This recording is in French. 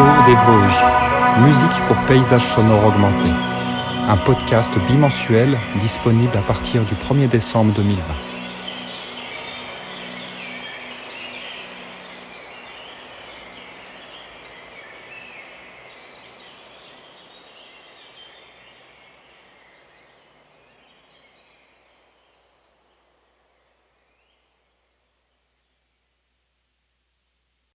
Echo des Vosges, musique pour paysages sonores augmentés. Un podcast bimensuel disponible à partir du 1er décembre 2020.